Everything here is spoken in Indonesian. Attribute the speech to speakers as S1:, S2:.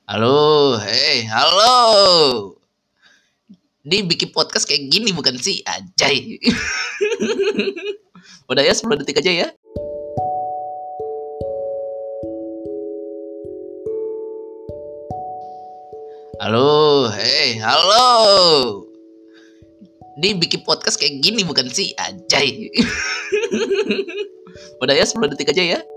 S1: Halo, halo. Ini bikin podcast kayak gini bukan sih? Anjay. Udah ya 10 detik aja ya. Halo, halo. Ini bikin podcast kayak gini bukan sih? Anjay. Udah ya 10 detik aja ya.